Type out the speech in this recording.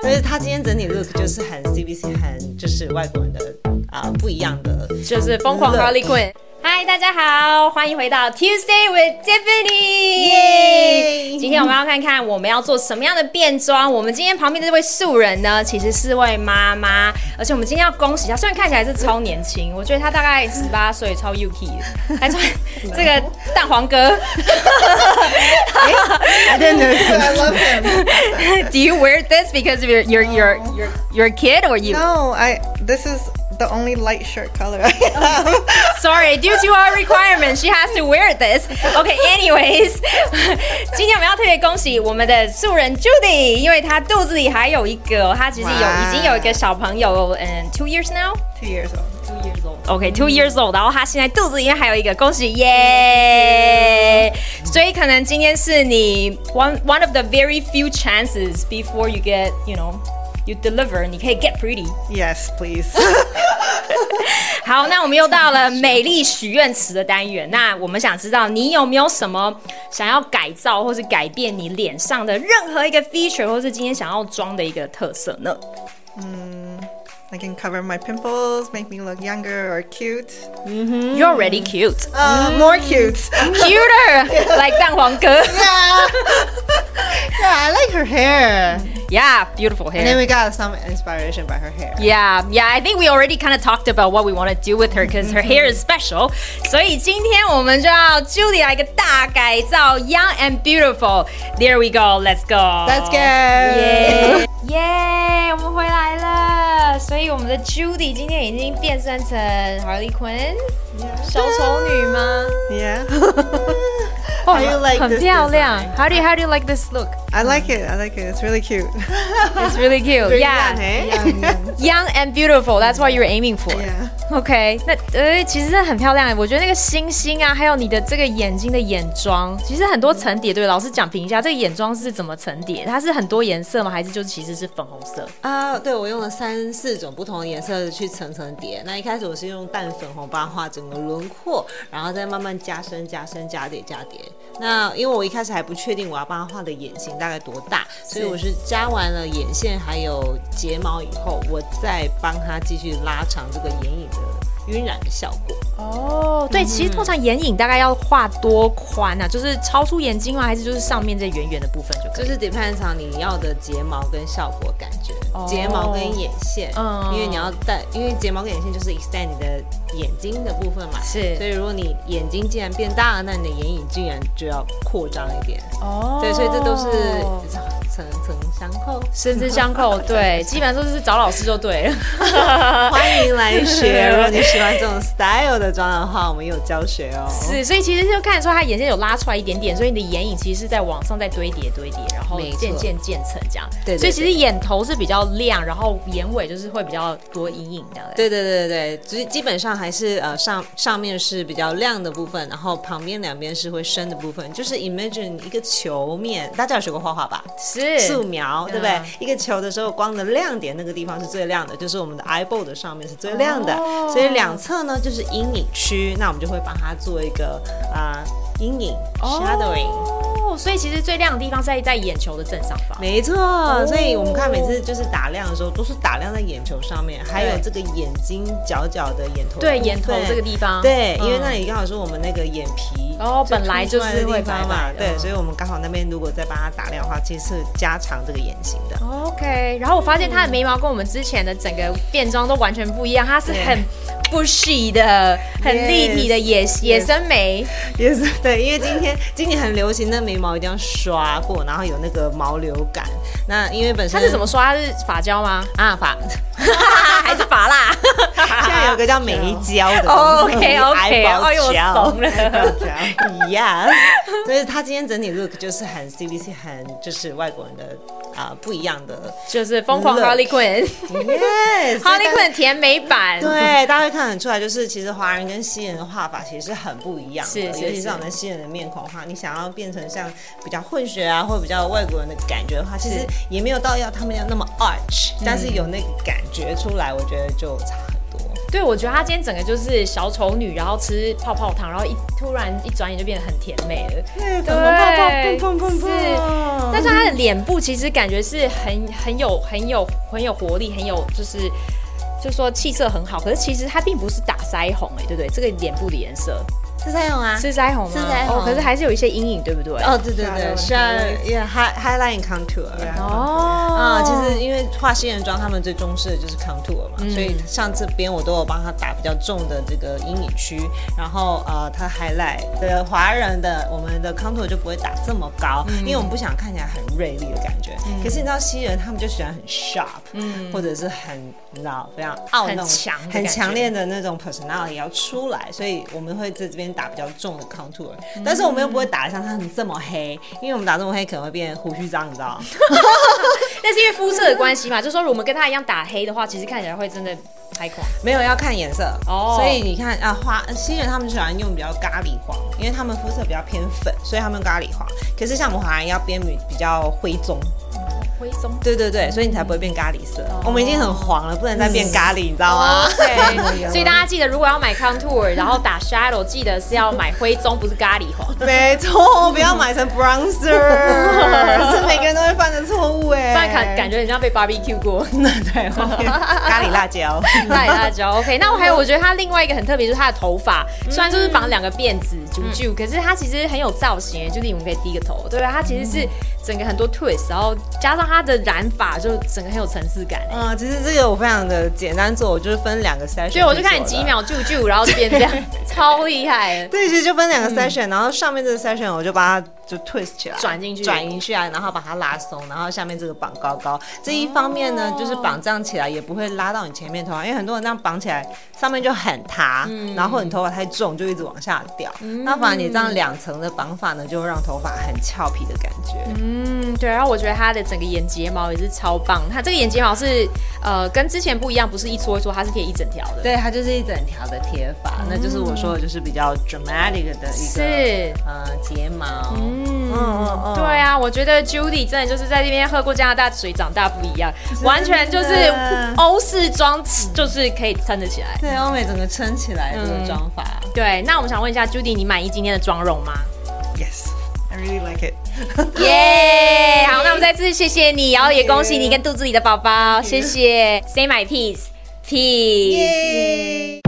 所以他今天整体 look 就是很 CBC， 很就是外国人的不一样的， 就是疯狂 Harley Quinn。嗨，大家好，欢迎回到 Tuesday with Tiffany。今天我们要看看我们要做什么样的变装。我们今天旁边的这位素人呢，其实是位妈妈，而且我们今天要恭喜她，虽然看起来是超年轻，我觉得她大概18岁，超 Yuki 的，还穿这个蛋黄哥。 I didn't know this. I love him. Do you wear this because of your kid or you? No, this is the only light shirt color I have. Sorry, due to our requirement, she has to wear this. Okay, anyways, 今天我们要特别恭喜我们的素人 Judy， 因为她肚子里还有一个，她其实已经有一个小朋友，2 years now? 2 years old. 2 years old. Okay, 2 years old. 然后她现在肚子里面还有一个，恭喜耶！所以可能今天是你 one of the very few chances before you get, you deliver, 你可以 get pretty. Yes, please. 好，那我们又到了美丽许愿池的单元。那我们想知道你有没有什么想要改造或是改变你脸上的任何一个 feature， 或是今天想要装的一个特色呢 I can cover my pimples, make me look younger or cute. You're already cute. More cute. Cuter, like 蛋黄哥。 Yeah, I like her hair. Yeah, beautiful And then hair. we got some inspiration by her hair. Yeah, I think we already kind of talked about what we want to do with her because her hair is special. 所以今天我们就要 Judy 来一个大改造 ，Young and Beautiful. There we go. Let's go. Let's go. 耶！我们回来了。所以我们的 Judy 今天已经变身成 Harley Quinn 小丑女吗？ Yeah. How do you like 很 this 漂亮。 design? How do you like this look? I like it. It's really cute. It's really cute. Very Yeah, young, eh? young and beautiful. That's what you're aiming for. Yeah. OK， 那其实真的很漂亮。我觉得那个星星啊，还有你的这个眼睛的眼妆，其实很多层叠。对，老师讲评一下，这个眼妆是怎么层叠？它是很多颜色吗？还是就其实是粉红色？ 对，我用了3、4种不同的颜色去层层叠。那一开始我是用淡粉红帮它画整个轮廓，然后再慢慢加深、加叠。那因为我一开始还不确定我要帮它画的眼型大概多大，所以我是加完了眼线还有睫毛以后，我再帮它继续拉长这个眼影的晕染的效果。 哦，对，其实通常眼影大概要画多宽啊？就是超出眼睛吗？还是就是上面这圆圆的部分就可以？ 就是 depends on 你要的睫毛跟效果感觉，睫毛跟眼线，因为你要因为睫毛跟眼线就是 extend 你的眼睛的部分嘛， 是， 所以如果你眼睛既然变大了，那你的眼影竟然就要扩张一点。对，所以这都是层层相扣， 深深相扣。对，基本上都是找老师就对了。 欢迎来学。如果你喜欢这种 style 的妆的话，我们有教学哦。 是，所以其实就看得出他眼线有拉出来一点点，所以你的眼影其实是在往上再堆叠，然后渐渐渐层这样。对，所以其实眼头是比较亮，然后眼尾就是会比较多阴影的。 对，基本上还是上面是比较亮的部分，然后旁边两边是会深的部分，就是 imagine 一个球面，大家有学过画画吧？ 是素描，对不对？一个球的时候，光的亮点那个地方是最亮的，就是我们的 eyeball 的上面是最亮的，所以两侧呢就是阴影区，那我们就会帮它做一个阴影 shadowing。 所以其实最亮的地方是在眼球的正上方。 没错，所以我们看每次就是打亮的时候，都是打亮在眼球上面，还有这个眼睛角的眼头。 对，眼头这个地方。 对，因为那里刚好是我们那个眼皮， 本来就是会白嘛。对，所以我们刚好那边如果再帮它打亮的话，其实是加长这个眼型的。 OK， 然后我发现它的眉毛跟我们之前的整个变装都完全不一样，它是很 bushy 的，很立体的野生眉。 也是对，因为今年很流行那眉毛一定要刷过，然后有那个毛流感。那因为本身它是怎么刷？它是发胶吗？还是发蜡？ 现在有个叫眉胶的东西。OK， 哎呦， 我怂了。 Yeah， 所以它今天整体 look 就是很 CBC， 很就是外国人的不一样的， 就是疯狂 Harley Quinn。Yes，Harley Quinn 甜美版。 对，大家会看得出来，就是其实华人跟西人的画法其实是很不一样的，尤其是我们西人的面孔的话，你想要变成像比较混血啊，或者比较外国人的感觉的话，其实也没有到要他们要那么 arch，但是有那个感觉出来，我觉得就差很多。 对，我觉得她今天整个就是小丑女，然后吃泡泡糖，然后突然一转眼就变得很甜美了。 对，粉红泡泡，砰砰砰砰。 是，但是她的脸部其实感觉是很有活力，很有就是说气色很好。可是其实她并不是打腮红对不对？这个脸部的颜色。 是腮红啊， 是腮红吗？ 是腮红， 可是还是有一些阴影，对不对？ 哦，对对对，是啊 ，highlight and contour。其实因为画新人妆，他们最重视的就是 contour 嘛，所以像这边我都有帮他打比较重的这个阴影区，然后他 highlight 的华人的我们的 contour 就不会打这么高，因为我们不想看起来很锐利的感觉。可是你知道西人他们就喜欢很 sharp，或者是很你知道非常很强烈的那种 personality 要出来，所以我们会在这边打比较重的 contour，但是我们又不会打得像他们这么黑，因为我们打这么黑可能会变胡须章，你知道吗？ 但是因为肤色的关系嘛，就是说如果我们跟他一样打黑的话，其实看起来会真的太狂。 没有要看颜色所以你看西人他们就喜欢用比较咖喱黄，因为他们肤色比较偏粉，所以他们用咖喱黄。可是像我们华人要变比较灰棕。 灰棕， 对对对，所以你才不会变咖喱色。我们已经很黄了，不能再变咖喱，你知道吗？ 对，所以大家记得，如果要买 contour， 然后打 shadow， 记得是要买灰棕，不是咖喱黄。 没错，不要买成 bronzer， 是每个人都会犯的错误不然感觉很像被 barbecue 过。 对，咖喱辣椒， 咖喱辣椒。OK， 那我觉得他另外一个很特别，就是他的头发，虽然就是绑2个辫子啾，可是他其实很有造型，就是你们可以低个头，对吧？他其实是整个很多 twist， 然后加上他的染发，就整个很有层次感。 其实这个我非常的简单做，我就是分2个 session。 对，我就看你几秒啾，然后就变这样，超厉害。 对，其实就分2个 session，然后上面这个 session 我就把它就 twist 起来， 转进去然后把它拉松，然后下面这个绑高高。这一方面呢，就是绑这样起来也不会拉到你前面头发，因为很多人这样绑起来上面就很塌，然后你头发太重就一直往下掉。那反而你这样2层的绑法呢，就会让头发很俏皮的感觉。 对，然后我觉得它的整个眼睫毛也是超棒，它这个眼睫毛是跟之前不一样，不是一撮一撮，它是贴一整条的。 对，它就是一整条的贴法，那就是我说的就是比较 dramatic 的一个睫毛。 对啊，我觉得 Judy 真的就是在这边喝过加拿大水长大不一样，完全就是欧式妆，就是可以撑得起来。 对，欧美整个撑起来这个妆法。 对，那我们想问一下 Judy， 你满意今天的妆容吗？ Yes，I really like it。 耶！好，那我们再次谢谢你，然后也恭喜你跟肚子里的宝宝，谢谢。Say my peace，peace。